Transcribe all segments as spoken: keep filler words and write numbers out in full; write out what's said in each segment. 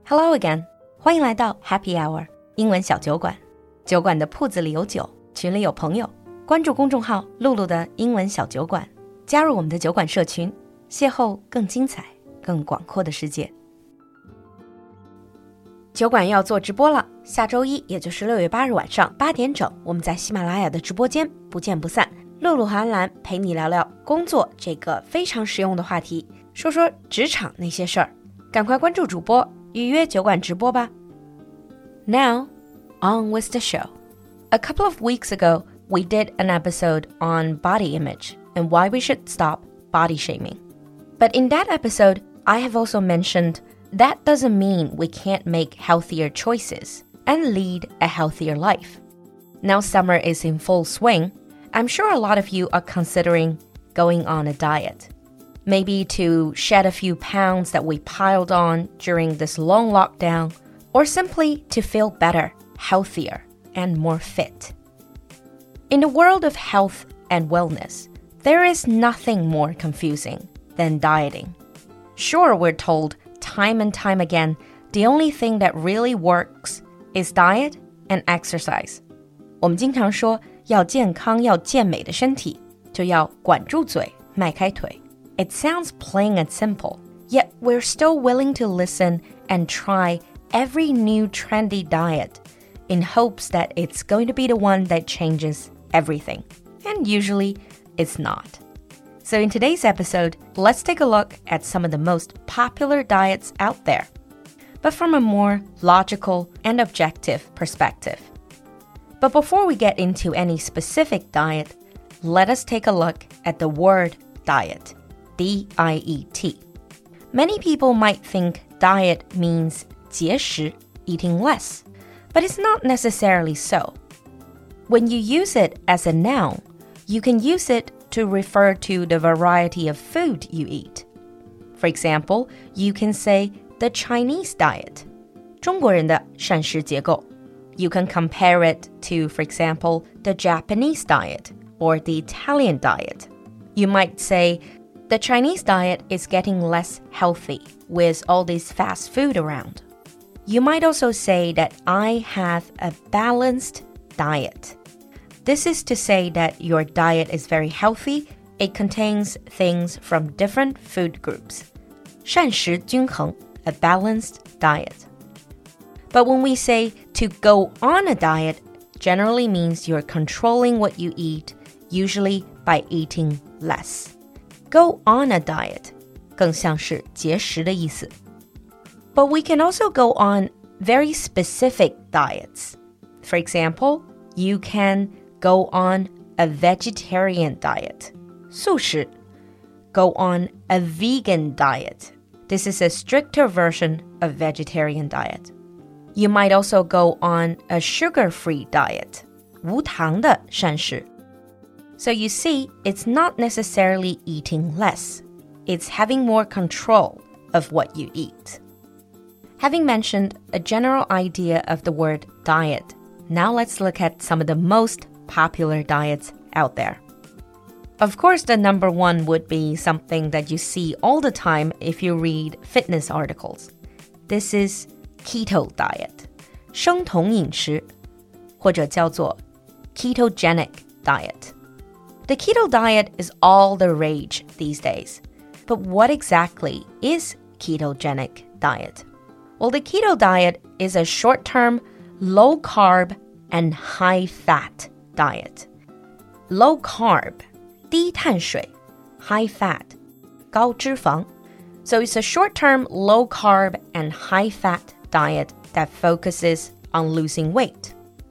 Hello again， 欢迎来到 Happy Hour 英文小酒馆。酒馆的铺子里有酒，群里有朋友。关注公众号露露的英文小酒馆，加入我们的酒馆社群，邂逅更精彩、更广阔的世界。酒馆要做直播了，下周一，也就是六月八日晚上八点整，我们在喜马拉雅的直播间不见不散。露露和安澜陪你聊聊工作这个非常实用的话题，说说职场那些事儿。赶快关注主播，预约酒馆直播吧。Now, on with the show. A couple of weeks ago, we did an episode on body image and why we should stop body shaming. But in that episode, I have also mentioned that doesn't mean we can't make healthier choices and lead a healthier life. Now summer is in full swing. I'm sure a lot of you are considering going on a diet. Maybe to shed a few pounds that we piled on during this long lockdown, or simply to feel better, healthier, and more fit. In the world of health and wellness, there is nothing more confusing than dieting. Sure, we're told time and time again, the only thing that really works is diet and exercise. 我们经常说要健康要健美的身体，就要管住嘴，迈开腿。It sounds plain and simple, yet we're still willing to listen and try every new trendy diet in hopes that it's going to be the one that changes everything. And usually, it's not. So in today's episode, let's take a look at some of the most popular diets out there, but from a more logical and objective perspective. But before we get into any specific diet, let us take a look at the word diet, D I E T. Many people might think diet means 节食, eating less, but it's not necessarily so. When you use it as a noun, you can use it to refer to the variety of food you eat. For example, you can say the Chinese diet, 中国人的膳食结构. You can compare it to, for example, the Japanese diet or the Italian diet. You might say, the Chinese diet is getting less healthy with all this fast food around. You might also say that I have a balanced diet. This is to say that your diet is very healthy. It contains things from different food groups. 膳食均衡, a balanced diet. But when we say to go on a diet, generally means you're controlling what you eat, usually by eating less. Go on a diet, 更像是节食的意思. But we can also go on very specific diets. For example, you can go on a vegetarian diet, 素食. Go on a vegan diet. This is a stricter version of vegetarian diet. You might also go on a sugar-free diet, 无糖的膳食. So you see, it's not necessarily eating less. It's having more control of what you eat. Having mentioned a general idea of the word diet, now let's look at some of the most popular diets out there. Of course, the number one would be something that you see all the time if you read fitness articles. This is keto diet, 生酮饮食, 或者叫做 ketogenic diet. The keto diet is all the rage these days. But what exactly is ketogenic diet? Well, the keto diet is a short-term, low-carb and high-fat diet. Low-carb, 低碳水, high-fat, 高脂肪. So it's a short-term, low-carb and high-fat diet that focuses on losing weight.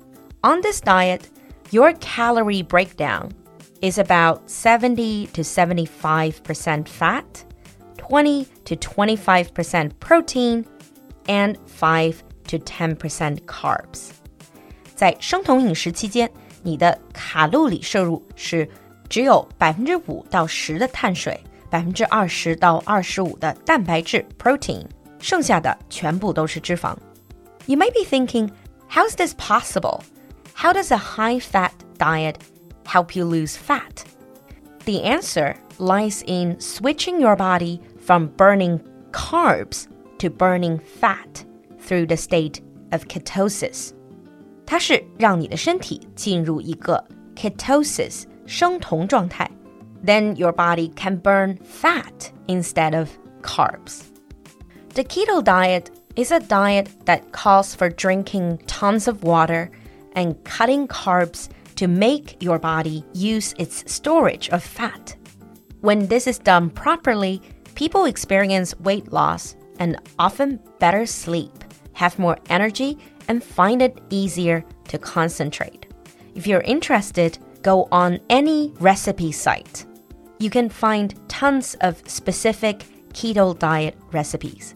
On this diet, your calorie breakdown is about seventy to seventy-five percent fat, twenty to twenty-five percent protein, and five to ten percent carbs. 在生酮饮食期间，你的卡路里摄入是只有 百分之五到十 的碳水， 百分之二十到二十五 的蛋白质 protein, 剩下的全部都是脂肪. You might be thinking, how is this possible? How does a high-fat diet help you lose fat? The answer lies in switching your body from burning carbs to burning fat through the state of ketosis. 它是让你的身体进入一个 ketosis 生酮状态 Then your body can burn fat instead of carbs. The keto diet is a diet that calls for drinking tons of water and cutting carbs to make your body use its storage of fat. When this is done properly, people experience weight loss and often better sleep, have more energy, and find it easier to concentrate. If you're interested, go on any recipe site. You can find tons of specific keto diet recipes.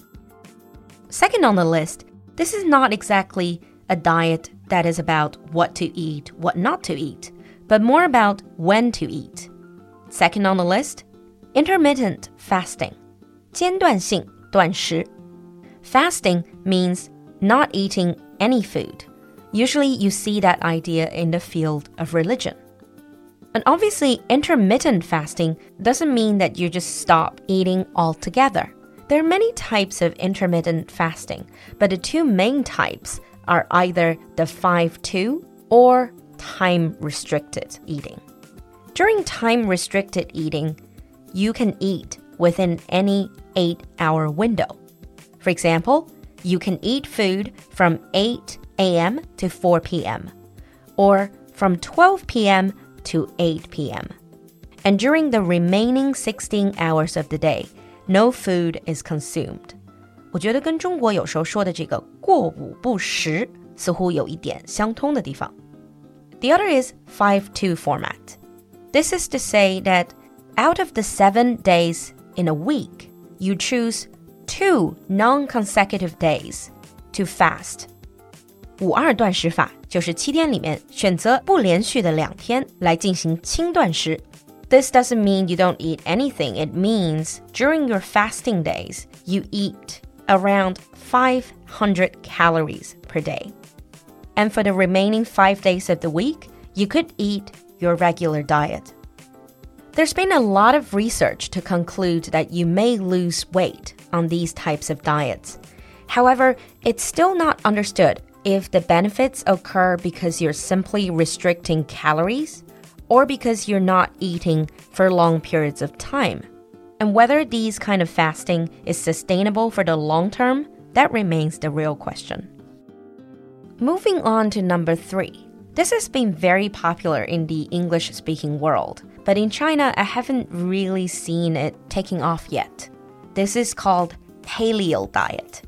Second on the list, this is not exactly a diet that is about what to eat, what not to eat, but more about when to eat. Second on the list, intermittent fasting. 间断性断食. Fasting means not eating any food. Usually you see that idea in the field of religion. And obviously, intermittent fasting doesn't mean that you just stop eating altogether. There are many types of intermittent fasting, but the two main types are either the five two or time-restricted eating. During time-restricted eating, you can eat within any eight-hour window. For example, you can eat food from eight a.m. to four p.m. or from twelve p.m. to eight p.m. And during the remaining sixteen hours of the day, no food is consumed. 我觉得跟中国有时候说的这个过午不食似乎有一点相通的地方。The other is five two format. This is to say that out of the seven days in a week, you choose two non-consecutive days to fast. 五二断食法就是七天里面选择不连续的两天来进行轻断食。This doesn't mean you don't eat anything. It means during your fasting days, you eat around five hundred calories per day. And for the remaining five days of the week, you could eat your regular diet. There's been a lot of research to conclude that you may lose weight on these types of diets. However, it's still not understood if the benefits occur because you're simply restricting calories or because you're not eating for long periods of time. And whether these kind of fasting is sustainable for the long term, that remains the real question. Moving on to number three. This has been very popular in the English-speaking world, but in China, I haven't really seen it taking off yet. This is called paleo diet.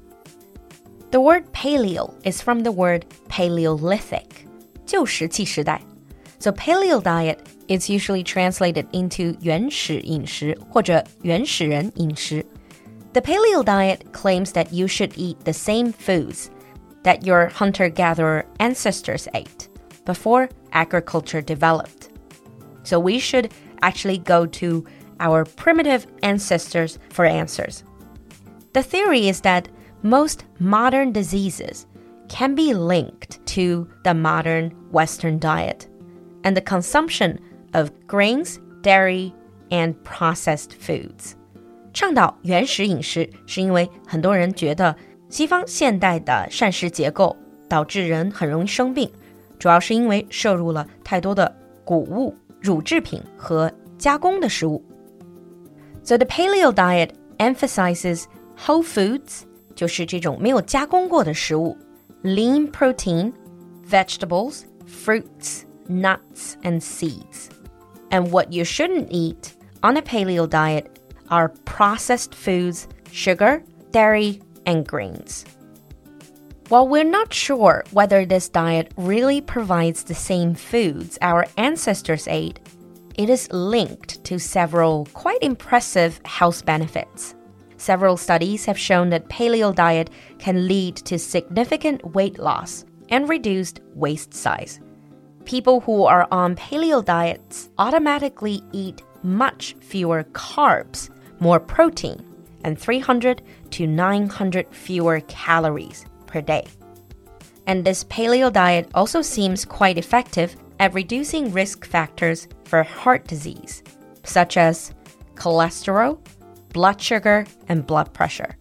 The word paleo is from the word Paleolithic, 旧石器时代. So paleo diet is usually translated into 原始饮食或者原始人饮食. The paleo diet claims that you should eat the same foods that your hunter-gatherer ancestors ate before agriculture developed. So we should actually go to our primitive ancestors for answers. The theory is that most modern diseases can be linked to the modern Western diet and the consumption of grains, dairy, and processed foods. 倡导原始饮食是因为很多人觉得西方现代的膳食结构导致人很容易生病，主要是因为摄入了太多的谷物、乳制品和加工的食物。So the paleo diet emphasizes whole foods, 就是这种没有加工过的食物 lean protein, vegetables, fruits, nuts, and seeds. And what you shouldn't eat on a paleo diet are processed foods, sugar, dairy, and grains. While we're not sure whether this diet really provides the same foods our ancestors ate, it is linked to several quite impressive health benefits. Several studies have shown that paleo diet can lead to significant weight loss and reduced waist size. People who are on paleo diets automatically eat much fewer carbs, more protein, and three hundred to nine hundred fewer calories per day. And this paleo diet also seems quite effective at reducing risk factors for heart disease, such as cholesterol, blood sugar, and blood pressure.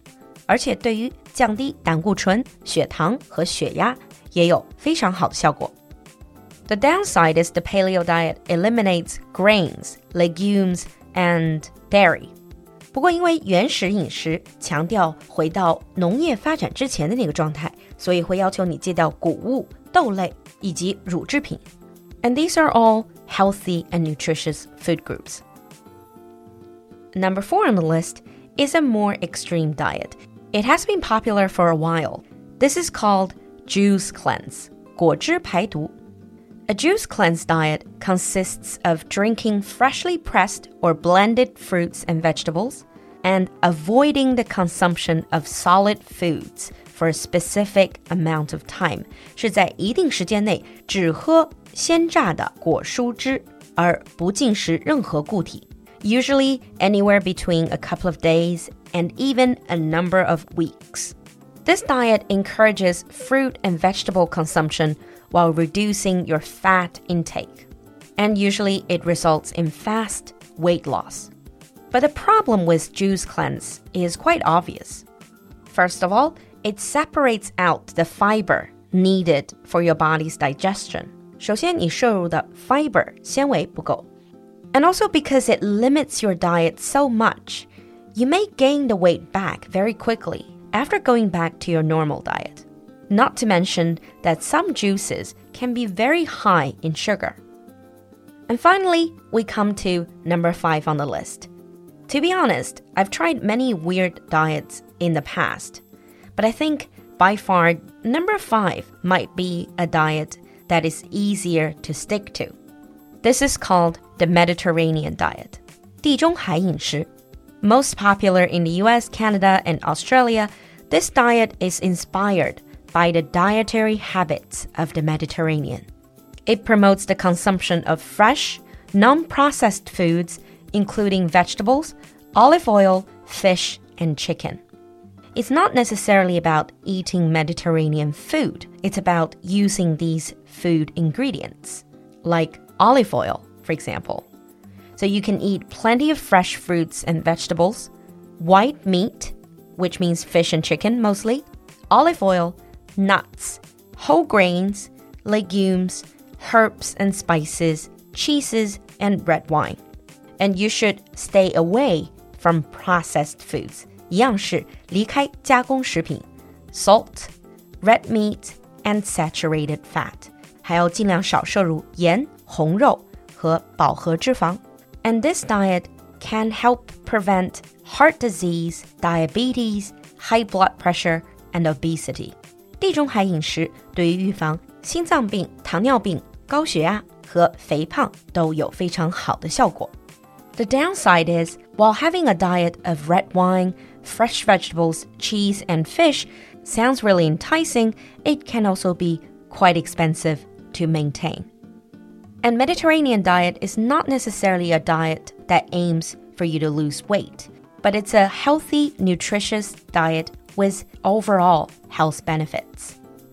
而且对于降低胆固醇、血糖和血压也有非常好的效果。The downside is the paleo diet eliminates grains, legumes, and dairy. 不过因为原始饮食强调回到农业发展之前的那个状态，所以会要求你戒掉谷物、豆类以及乳制品。And these are all healthy and nutritious food groups. Number four on the list is a more extreme diet. It has been popular for a while. This is called juice cleanse, 果汁排毒。A juice cleanse diet consists of drinking freshly pressed or blended fruits and vegetables and avoiding the consumption of solid foods for a specific amount of time. 是在一定时间内只喝鲜榨的果蔬汁，而不进食任何固体。Usually anywhere between a couple of days and even a number of weeks. This diet encourages fruit and vegetable consumption while reducing your fat intake. And usually it results in fast weight loss. But the problem with juice cleanse is quite obvious. First of all, it separates out the fiber needed for your body's digestion. 首先你摄入的 fiber 纤维不够。And also because it limits your diet so much, you may gain the weight back very quickly after going back to your normal diet. Not to mention that some juices can be very high in sugar. And finally, we come to number five on the list. To be honest, I've tried many weird diets in the past, but I think by far number five might be a diet that is easier to stick to. This is called the Mediterranean diet, 地中海饮食. Most popular in the U S, Canada, and Australia, this diet is inspired by the dietary habits of the Mediterranean. It promotes the consumption of fresh, non-processed foods, including vegetables, olive oil, fish, and chicken. It's not necessarily about eating Mediterranean food. It's about using these food ingredients, like olive oil, for example. So you can eat plenty of fresh fruits and vegetables, white meat, which means fish and chicken mostly, olive oil, nuts, whole grains, legumes, herbs and spices, cheeses, and red wine. And you should stay away from processed foods. 一样是离开加工食品 salt, red meat, and saturated fat. 还要尽量少摄入盐、红肉和饱和脂肪. And this diet can help prevent heart disease, diabetes, high blood pressure, and obesity. 地中海饮食对于预防心脏病、糖尿病、高血压和肥胖都有非常好的效果. The downside is, while having a diet of red wine, fresh vegetables, cheese, and fish sounds really enticing, it can also be quite expensive to maintain. And Mediterranean diet is not necessarily a diet that aims for you to lose weight, but it's a healthy, nutritious diet with overall health benefits.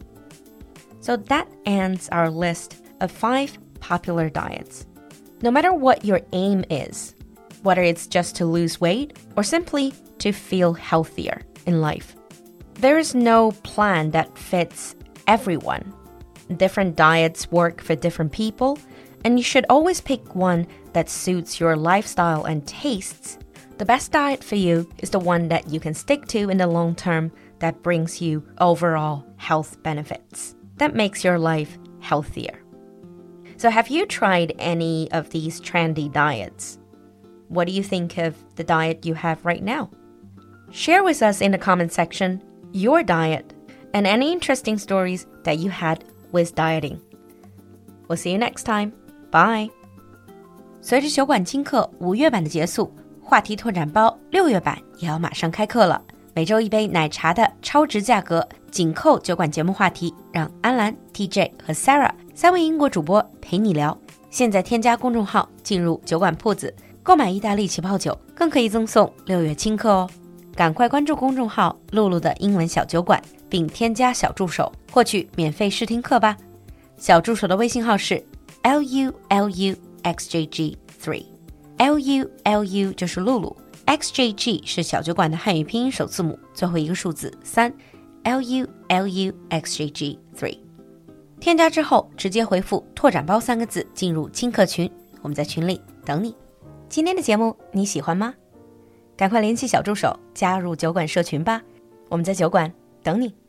So that ends our list of five popular diets. No matter what your aim is, whether it's just to lose weight or simply to feel healthier in life, there is no plan that fits everyone. Different diets work for different people, and you should always pick one that suits your lifestyle and tastes. The best diet for you is the one that you can stick to in the long term that brings you overall health benefits, that makes your life healthier. So have you tried any of these trendy diets? What do you think of the diet you have right now? Share with us in the comment section your diet and any interesting stories that you had with dieting. We'll see you next time. Bye. 随着酒馆精课五月版的结束，话题拓展包六月版也要马上开课了。每周一杯奶茶的超值价格，紧扣酒馆节目话题，让安兰、T J 和 Sarah 三位英国主播陪你聊。现在添加公众号进入酒馆铺子，购买意大利起泡酒，更可以赠送六月轻课哦。赶快关注公众号露露的英文小酒馆，并添加小助手获取免费试听课吧。小助手的微信号是 L U L U X J G three， L U L U 就是露露 X J G 是小酒馆的汉语拼音首字母，最后一个数字三 L U L U X J G 三。添加之后直接回复拓展包三个字进入轻课群，我们在群里等你。今天的节目你喜欢吗？赶快联系小助手加入酒馆社群吧，我们在酒馆等你。